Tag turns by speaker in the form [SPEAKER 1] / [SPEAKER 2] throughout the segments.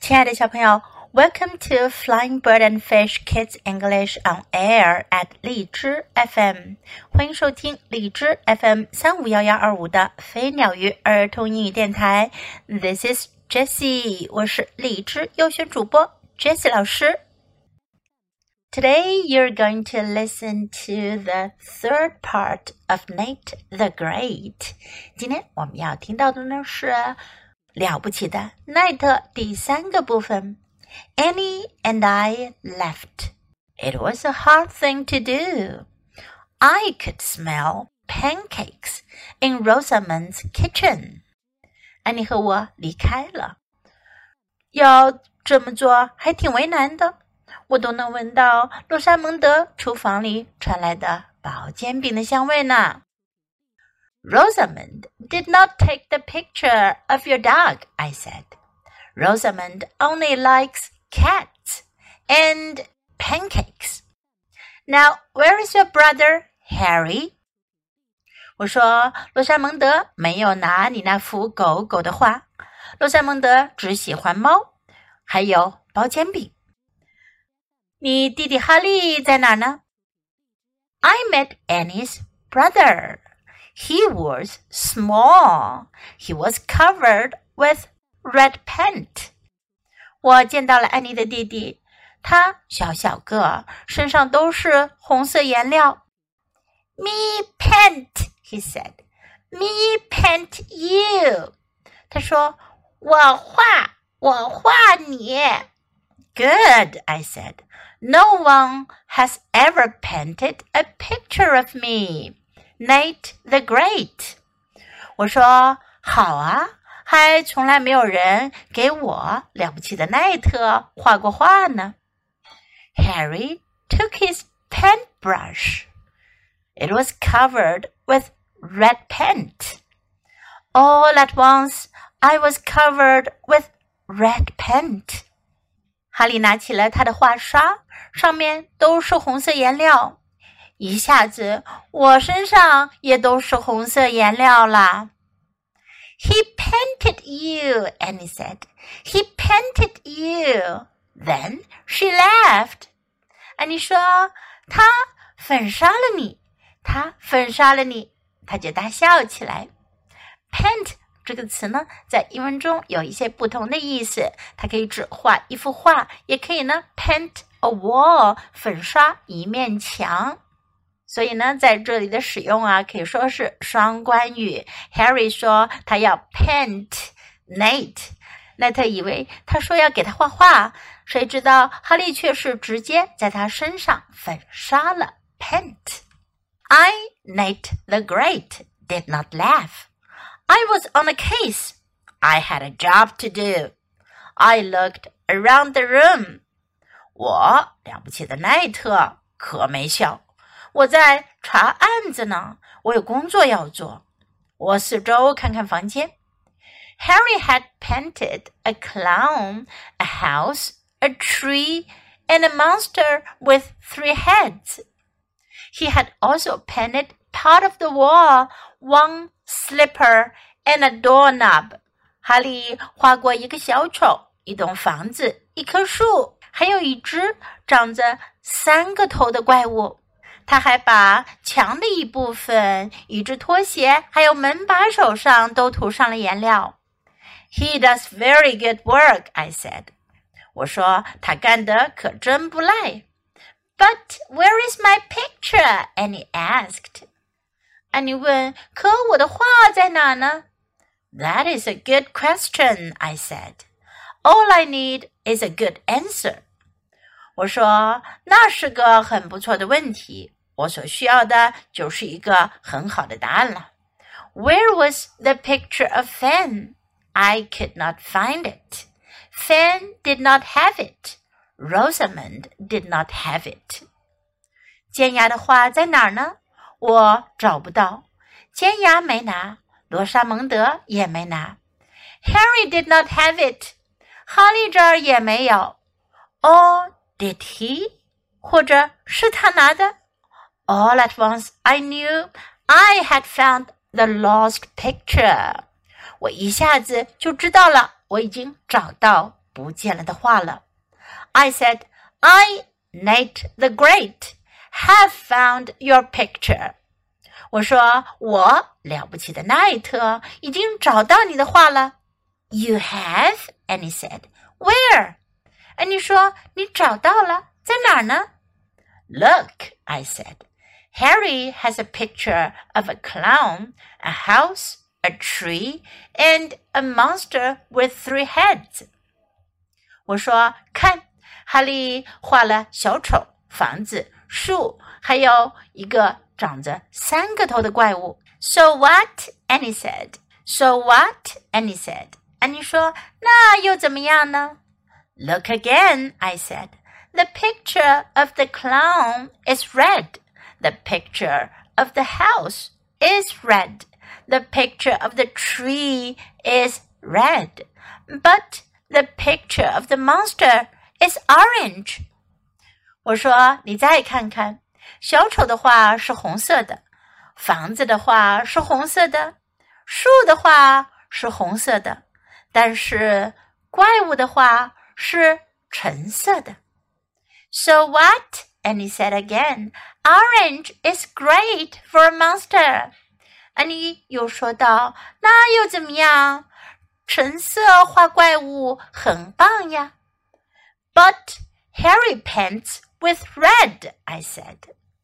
[SPEAKER 1] 亲爱的小朋友 Welcome to Flying Bird and Fish Kids English on Air at 荔枝 FM 欢迎收听荔枝 FM 3511125的飞鸟鱼儿童英语电台 This is Jessie 我是荔枝优选主播 Jessie 老师 Today you're going to listen to the third part of Nate the Great 今天我们要听到的呢是了不起的奈特第三个部分 Annie and I left. It was a hard thing to do. I could smell pancakes in Rosamond's kitchen. 安妮和我离开了。要这么做还挺为难的。我都能闻到罗莎蒙德厨房里传来的薄煎饼的香味呢。Rosamond did not take the picture of your dog, I said. Rosamond only likes cats and pancakes. Now, where is your brother, Harry? 我说，罗莎蒙德没有拿你那幅狗狗的画。罗莎蒙德只喜欢猫，还有薄煎饼。你弟弟哈利在哪儿呢？ I met Annie's brother.He was small. He was covered with red paint. 我见到了安妮的弟弟，他小小个，身上都是红色颜料。Me paint, he said. Me paint you. 他说，我画你。Good, I said. No one has ever painted a picture of me.Nate the Great 我说好啊还从来没有人给我了不起的奈特画过画呢 Harry took his paintbrush It was covered with red paint All at once I was covered with red paint 哈利拿起了他的画刷上面都是红色颜料一下子我身上也都是红色颜料啦 He painted you, Annie said. He painted you. Then she laughed. 安妮说他粉刷了你他粉刷了你他就大笑起来 Paint 这个词呢在英文中有一些不同的意思它可以指画一幅画也可以呢 paint a wall 粉刷一面墙所以呢在这里的使用啊可以说是双关语 Harry 说他要 paint Nate 奈特以为他说要给他画画谁知道哈利却是直接在他身上粉刷了 paint I, Nate the Great, did not laugh I was on a case I had a job to do I looked around the room 我了不起的奈特可没笑我在查案子呢，我有工作要做。我四周看看房间。Harry had painted a clown, a house, a tree, and a monster with 3 heads. He had also painted part of the wall, one slipper, and a doorknob. 哈利画过一个小丑，一栋房子，一棵树，还有一只长着3个头的怪物。他还把墙的一部分一只拖鞋还有门把手上都涂上了颜料 He does very good work, I said. 我说他干得可真不赖 But where is my picture? Annie asked. 安妮问可我的画在哪呢 That is a good question, I said. All I need is a good answer.我说那是个很不错的问题我所需要的就是一个很好的答案了 Where was the picture of Fan? I could not find it. Fan did not have it. Rosamond did not have it. 尖牙的画在哪儿呢我找不到尖牙没拿罗莎蒙德也没拿 Harry did not have it. 哈利这儿也没有 Did he? 或者是他拿的 All at once I knew I had found the lost picture. 我一下子就知道了，我已经找到不见了的话了。I said, I, Nate the Great, have found your picture. 我说，我了不起的奈特已经找到你的画了。You have? Annie said. Where? Annie 说，你找到了，在哪儿呢？ Look, I said. Harry has a picture of a clown, a house, a tree, and a monster with 3 heads. 我说，看，哈利画了小丑、房子、树，还有一个长着3个头的怪物。So what? Annie said. So what? Annie said. Annie 说，那又怎么样呢？ Look again, I said. The picture of the clown is red. The picture of the house is red. The picture of the tree is red. But the picture of the monster is orange. 我说，你再看看，小丑的画是红色的，房子的画是红色的，树的画是红色的，但是怪物的画是橙色的。So what? Annie said again. Orange is great for a monster. Annie 又说道，那又怎么样？橙色画怪物很棒呀。But Harry paints with red, I said.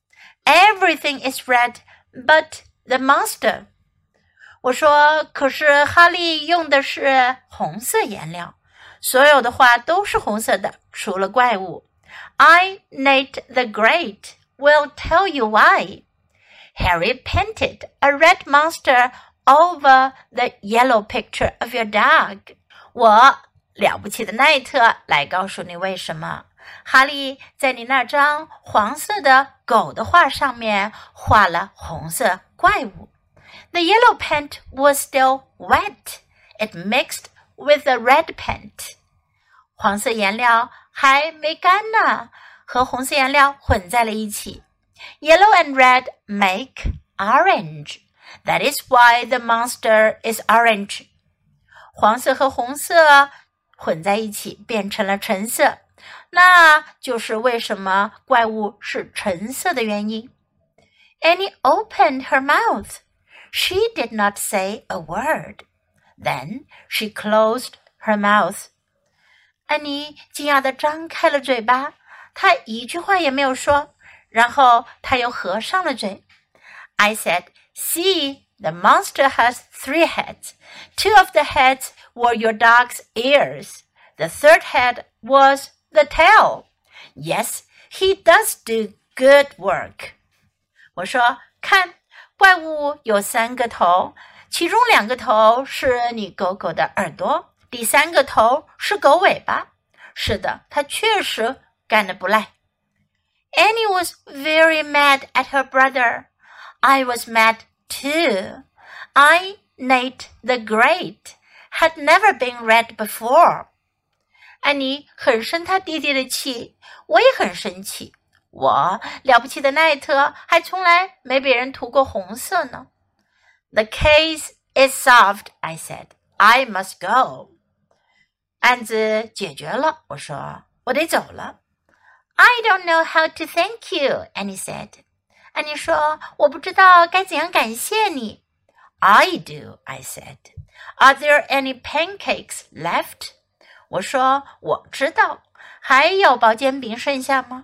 [SPEAKER 1] Everything is red, but the monster. 我说，可是哈利用的是红色颜料，所有的画都是红色的，除了怪物。I, Nate the Great, will tell you why. Harry painted a red monster over the yellow picture of your dog. 我了不起的奈特来告诉你为什么。哈利在你那张黄色的狗的画上面画了红色怪物。The yellow paint was still wet. It mixed with the red paint. 黄色颜料还没干呢，和红色颜料混在了一起。Yellow and red make orange. That is why the monster is orange. 黄色和红色混在一起变成了橙色，那就是为什么怪物是橙色的原因。Annie opened her mouth. She did not say a word. Then she closed her mouth. 安妮惊讶地张开了嘴巴，她一句话也没有说，然后她又合上了嘴。I said, See, the monster has 3 heads. 2 of the heads were your dog's ears. The 3rd head was the tail. Yes, he does do good work. 我说，看，怪物有3个头，其中2个头是你狗狗的耳朵，第3个头是狗尾巴。是的，它确实干得不赖。Annie was very mad at her brother. I was mad too. I, Nate the Great, had never been read before. 安妮很生她弟弟的气，我也很生气。我了不起的奈特还从来没被人涂过红色呢。The case is solved, I said. I must go. 案子解决了，我说，我得走了。I don't know how to thank you, Annie said. 安妮说，我不知道该怎样感谢你。I do, I said. Are there any pancakes left? 我说，我知道，还有薄煎饼剩下吗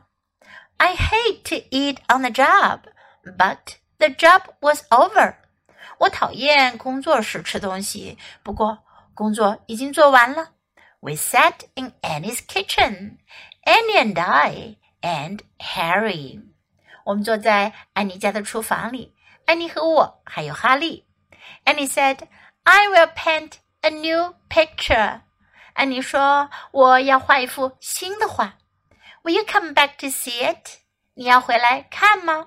[SPEAKER 1] ？I hate to eat on the job, but the job was over. 我讨厌工作时吃东西，不过工作已经做完了。We sat in Annie's kitchen, Annie and I, and Harry. 我们坐在安妮家的厨房里，安妮和我还有哈利。Annie said, I will paint a new picture. 安妮说，我要画一幅新的画。Will you come back to see it? 你要回来看吗？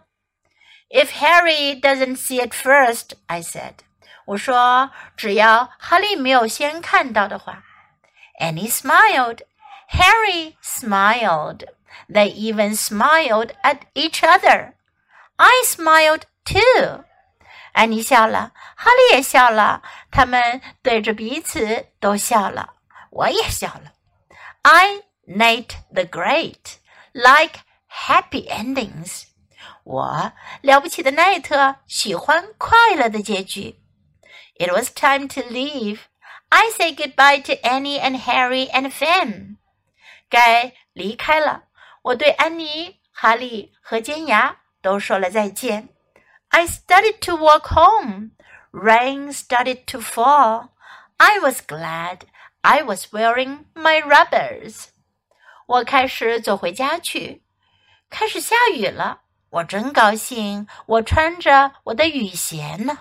[SPEAKER 1] If Harry doesn't see it first, I said. 我说，只要哈利没有先看到的话。Annie smiled. Harry smiled. They even smiled at each other. I smiled too. 安妮笑了，哈利也笑了，他们对着彼此都笑了，我也笑了。 I, Nate the Great, like happy endings. 我了不起的奈特喜欢快乐的结局。It was time to leave. I say goodbye to Annie and Harry and Finn. 该离开了，我对安妮、哈利和尖牙都说了再见。I started to walk home. Rain started to fall. I was glad I was wearing my rubbers. 我开始走回家去，开始下雨了，我真高兴，我穿着我的雨鞋呢。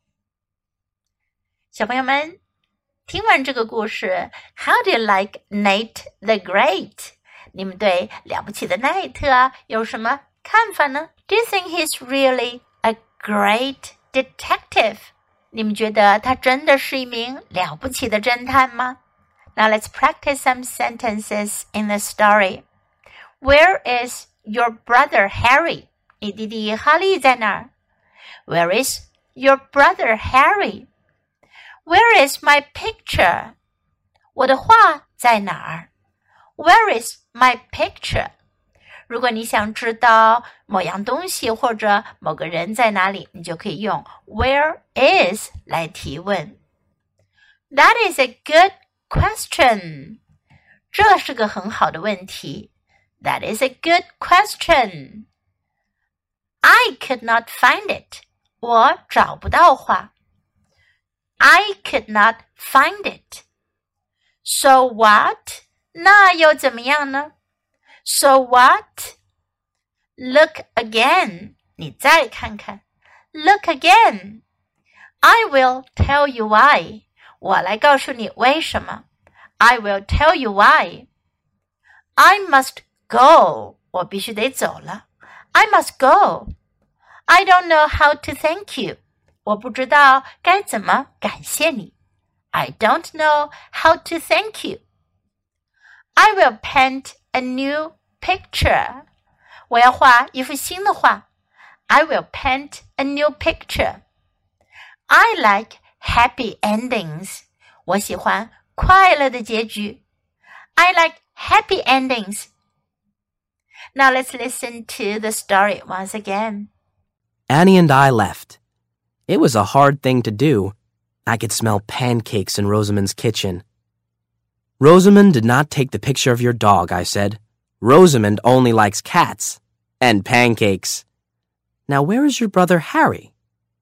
[SPEAKER 1] 小朋友们，听完这个故事 How do you like Nate the Great? 你们对了不起的奈特有什么看法呢？ Do you think he's really a great detective? 你们觉得他真的是一名了不起的侦探吗？ Now let's practice some sentences in the story. Where is your brother Harry? 你弟弟哈利在哪儿？ Where is your brother Harry?Where is my picture? 我的画在哪儿？ Where is my picture? 如果你想知道某样东西或者某个人在哪里，你就可以用 Where is 来提问。That is a good question. 这是个很好的问题。That is a good question. I could not find it. 我找不到画。I could not find it. So what? 那又怎么样呢？ So what? Look again. 你再看看。Look again. I will tell you why. 我来告诉你为什么。I will tell you why. I must go. 我必须得走了。I must go. I don't know how to thank you.我不知道该怎么感谢你。I don't know how to thank you. I will paint a new picture. 我要画一幅新的画。I will paint a new picture. I like happy endings. 我喜欢快乐的结局。I like happy endings. Now let's listen to the story once again.
[SPEAKER 2] Annie and I left.It was a hard thing to do. I could smell pancakes in Rosamond's kitchen. Rosamond did not take the picture of your dog, I said. Rosamond only likes cats and pancakes. Now where is your brother Harry?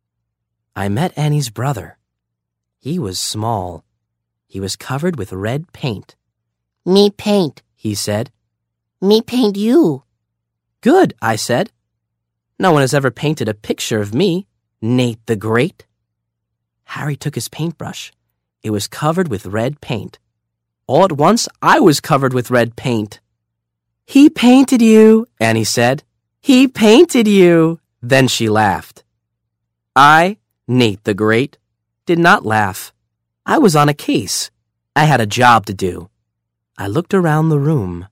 [SPEAKER 2] I met Annie's brother. He was small. He was covered with red paint.
[SPEAKER 3] Me paint,
[SPEAKER 2] he said.
[SPEAKER 3] Me paint you.
[SPEAKER 2] Good, I said. No one has ever painted a picture of me.Nate the Great? Harry took his paintbrush. It was covered with red paint. All at once, I was covered with red paint. He painted you, Annie said. He painted you. Then she laughed. I, Nate the Great, did not laugh. I was on a case. I had a job to do. I looked around the room.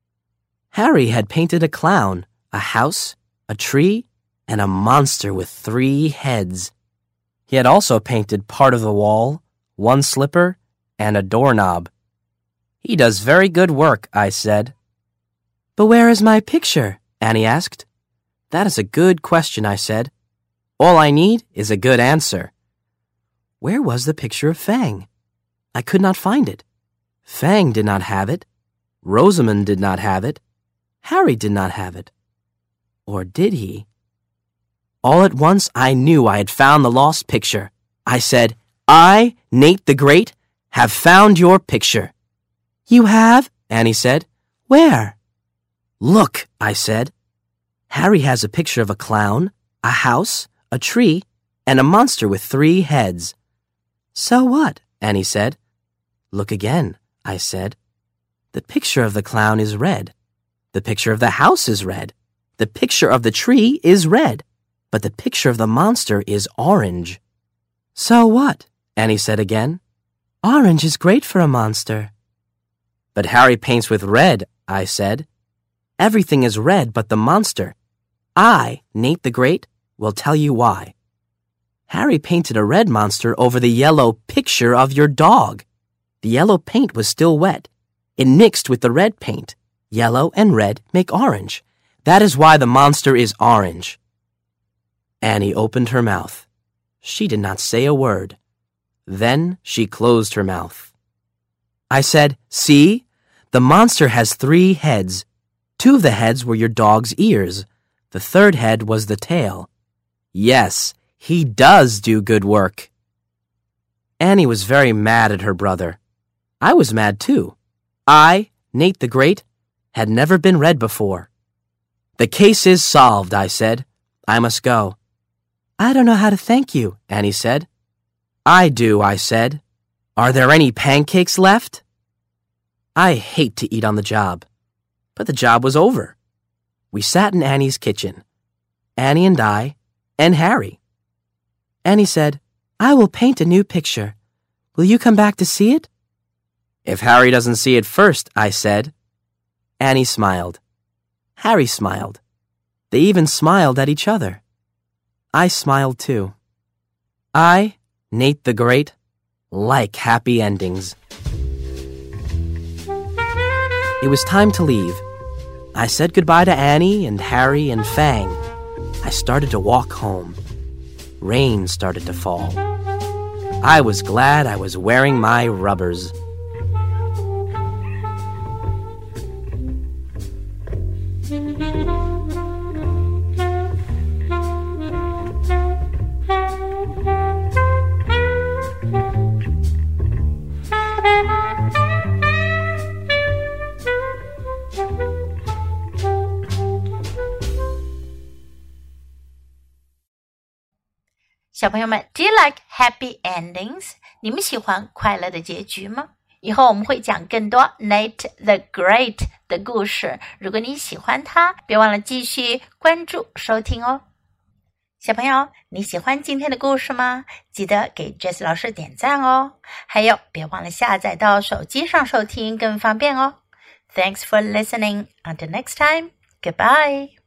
[SPEAKER 2] Harry had painted a clown, a house, a tree,and a monster with 3 heads. He had also painted part of the wall, 1 slipper, and a doorknob. He does very good work, I said. But where is my picture? Annie asked. That is a good question, I said. All I need is a good answer. Where was the picture of Fang? I could not find it. Fang did not have it. Rosamond did not have it. Harry did not have it. Or did he?All at once, I knew I had found the lost picture. I said, I, Nate the Great, have found your picture. You have? Annie said. Where? Look, I said. Harry has a picture of a clown, a house, a tree, and a monster with 3 heads. So what? Annie said. Look again, I said. The picture of the clown is red. The picture of the house is red. The picture of the tree is red.But the picture of the monster is orange. So what? Annie said again. Orange is great for a monster. But Harry paints with red, I said. Everything is red but the monster. I, Nate the Great, will tell you why. Harry painted a red monster over the yellow picture of your dog. The yellow paint was still wet. It mixed with the red paint. Yellow and red make orange. That is why the monster is orange. Annie opened her mouth. She did not say a word. Then she closed her mouth. I said, "See? The monster has 3 heads. 2 of the heads were your dog's ears. The 3rd head was the tail. Yes, he does do good work." Annie was very mad at her brother. I was mad too. I, Nate the Great, had never been read before. "The case is solved," I said. "I must go." "I don't know how to thank you," Annie said. "I do," I said. "Are there any pancakes left?" I hate to eat on the job. But the job was over. We sat in Annie's kitchen. Annie and I, and Harry. Annie said, "I will paint a new picture. Will you come back to see it?" "If Harry doesn't see it first," I said. Annie smiled. Harry smiled. They even smiled at each other. I smiled too. I, Nate the Great, like happy endings. It was time to leave. I said goodbye to Annie and Harry and Fang. I started to walk home. Rain started to fall. I was glad I was wearing my rubbers.
[SPEAKER 1] 小朋友们 ，Do you like happy endings？ 你们喜欢快乐的结局吗？以后我们会讲更多 Nate the Great 的故事。如果你喜欢他，别忘了继续关注收听哦。小朋友，你喜欢今天的故事吗？记得给 Jess 老师点赞哦。还有，别忘了下载到手机上收听更方便哦。Thanks for listening. Until next time. Goodbye.